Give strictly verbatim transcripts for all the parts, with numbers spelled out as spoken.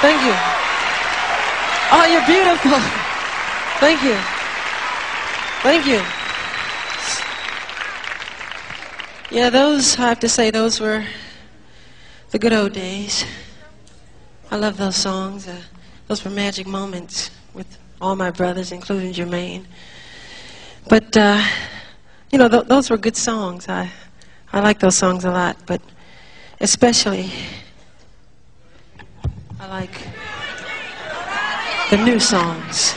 Thank you. Oh, you're beautiful. Thank you. Thank you. Yeah, those, I have to say, those were the good old days. I love those songs. Uh, those were magic moments with all my brothers, including Jermaine. But, uh, you know, th those were good songs. I, I like those songs a lot, but especially I like the new songs.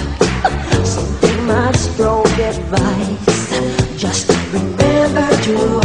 Just remember to